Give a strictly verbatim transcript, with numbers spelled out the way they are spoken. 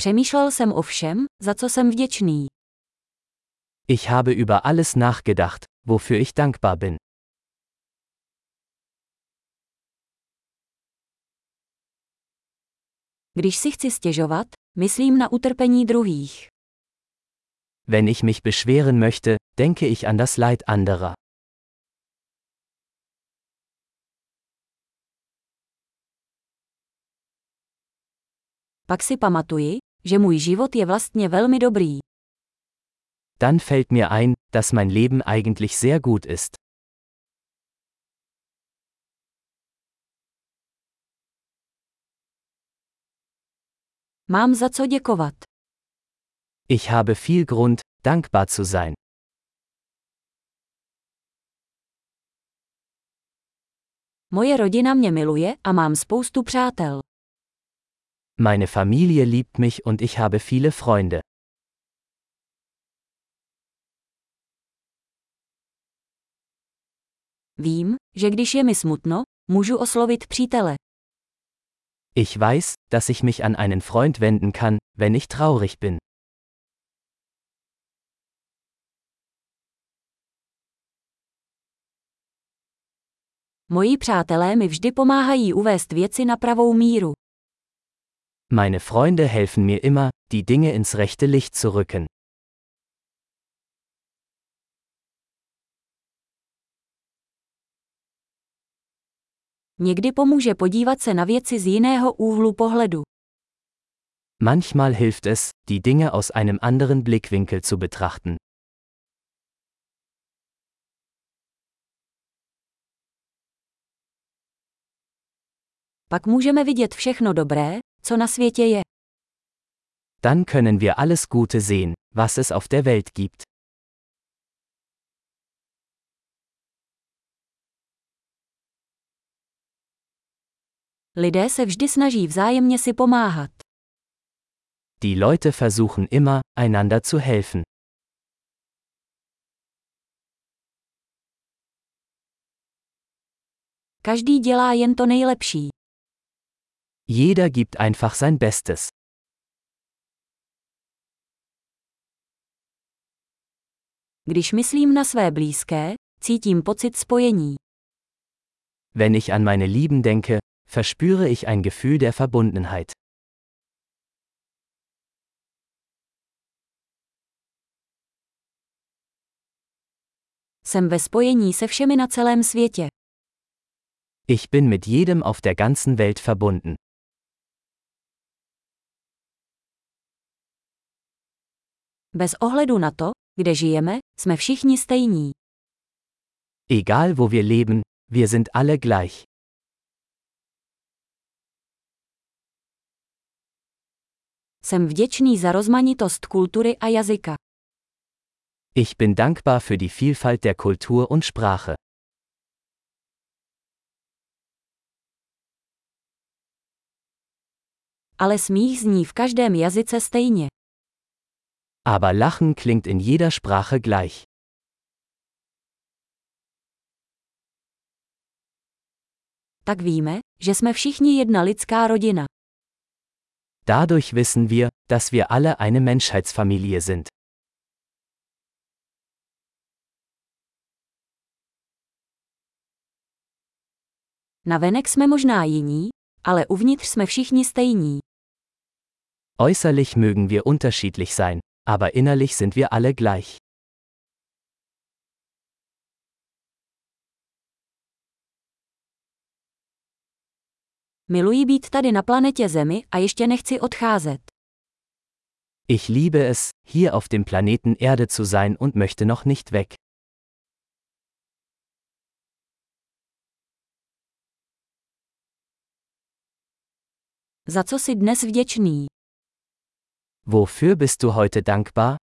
Přemýšlel jsem o všem, za co jsem vděčný. Ich habe über alles nachgedacht, wofür ich dankbar bin. Když si chci stěžovat, myslím na utrpení druhých. Wenn ich mich beschweren möchte, denke ich an das Leid anderer. Pak si pamatuji, že můj život je vlastně velmi dobrý. Dann fällt mir ein, dass mein Leben eigentlich sehr gut ist. Mám za co děkovat. Ich habe viel Grund, dankbar zu sein. Moje rodina mě miluje a mám spoustu přátel. Meine Familie liebt mich und ich habe viele Freunde. Vím, že když je mi smutno, můžu oslovit přítele. Ich weiß, dass ich mich an einen Freund wenden kann, wenn ich traurig bin. Moji přátelé mi vždy pomáhají uvést věci na pravou míru. Meine Freunde helfen mir immer, die Dinge ins rechte Licht zu rücken. Někdy pomůže podívat se na věci z jiného úhlu pohledu. Manchmal hilft es, die Dinge aus einem anderen Blickwinkel zu betrachten. Pak můžeme vidět všechno dobré, co na světě je. Dann können wir alles Gute sehen, was es auf der Welt gibt. Lidé se vždy snaží vzájemně si pomáhat. Die Leute versuchen immer, einander zu helfen. Každý dělá jen to nejlepší. Jeder gibt einfach sein Bestes. Když myslím na své blízké, cítím pocit spojení. Wenn ich an meine Lieben denke, verspüre ich ein Gefühl der Verbundenheit. Jsem ve spojení se všemi na celém světě. Ich bin mit jedem auf der ganzen Welt verbunden. Bez ohledu na to, kde žijeme, jsme všichni stejní. Egal wo wir leben, wir sind alle gleich. Jsem vděčný za rozmanitost kultury a jazyka. Ich bin dankbar für die Vielfalt der Kultur und Sprache. Ale smích zní v každém jazyce stejně. Aber Lachen klingt in jeder Sprache gleich. Tak víme, že jsme všichni jedna lidská rodina. Dadurch wissen wir, dass wir alle eine Menschheitsfamilie sind. Navenek jsme možná jiní, ale uvnitř jsme všichni stejní. Äußerlich mögen wir unterschiedlich sein, aber innerlich sind wir alle gleich. Miluji být tady na planetě Zemi a ještě nechci odcházet. Ich liebe es, hier auf dem Planeten Erde zu sein und möchte noch nicht weg. Za co jsi dnes vděčný? Wofür bist du heute dankbar?